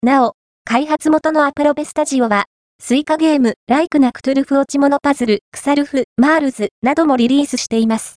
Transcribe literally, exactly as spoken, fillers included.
なお、開発元のアプロベスタジオは、スイカゲーム、ライクなクトゥルフ落ち物パズル、クサルフ、マールズなどもリリースしています。